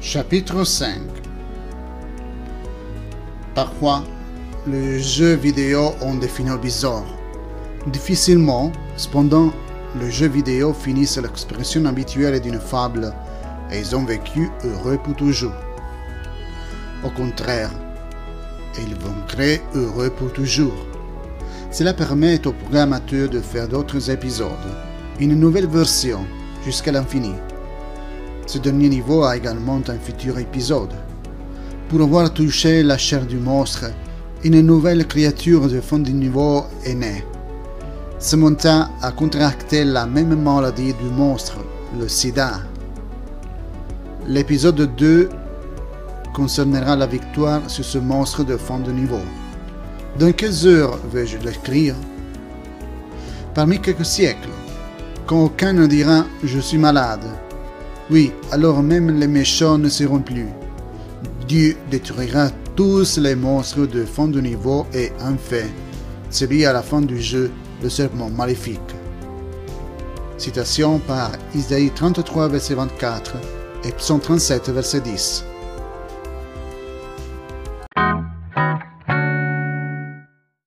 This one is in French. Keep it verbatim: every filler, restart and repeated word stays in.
Chapitre cinq. Parfois, les jeux vidéo ont des finaux bizarres. Difficilement, cependant, les jeux vidéo finissent l'expression habituelle d'une fable et ils ont vécu heureux pour toujours. Au contraire, ils vont créer heureux pour toujours. Cela permet au programmateur de faire d'autres épisodes, une nouvelle version, jusqu'à l'infini. Ce dernier niveau a également un futur épisode. Pour avoir touché la chair du monstre, une nouvelle créature de fond du niveau est née. Samantha a contracté la même maladie du monstre, le sida. L'épisode deux concernera la victoire sur ce monstre de fond de niveau. Dans quelles heures vais-je l'écrire? Parmi quelques siècles, quand aucun ne dira « je suis malade ». Oui, alors même les méchants ne seront plus. Dieu détruira tous les monstres de fond de niveau et en fait, celui à la fin du jeu, le serpent maléfique. Citation par Isaïe trente-trois, verset vingt-quatre et Psaume trente-sept, verset dix.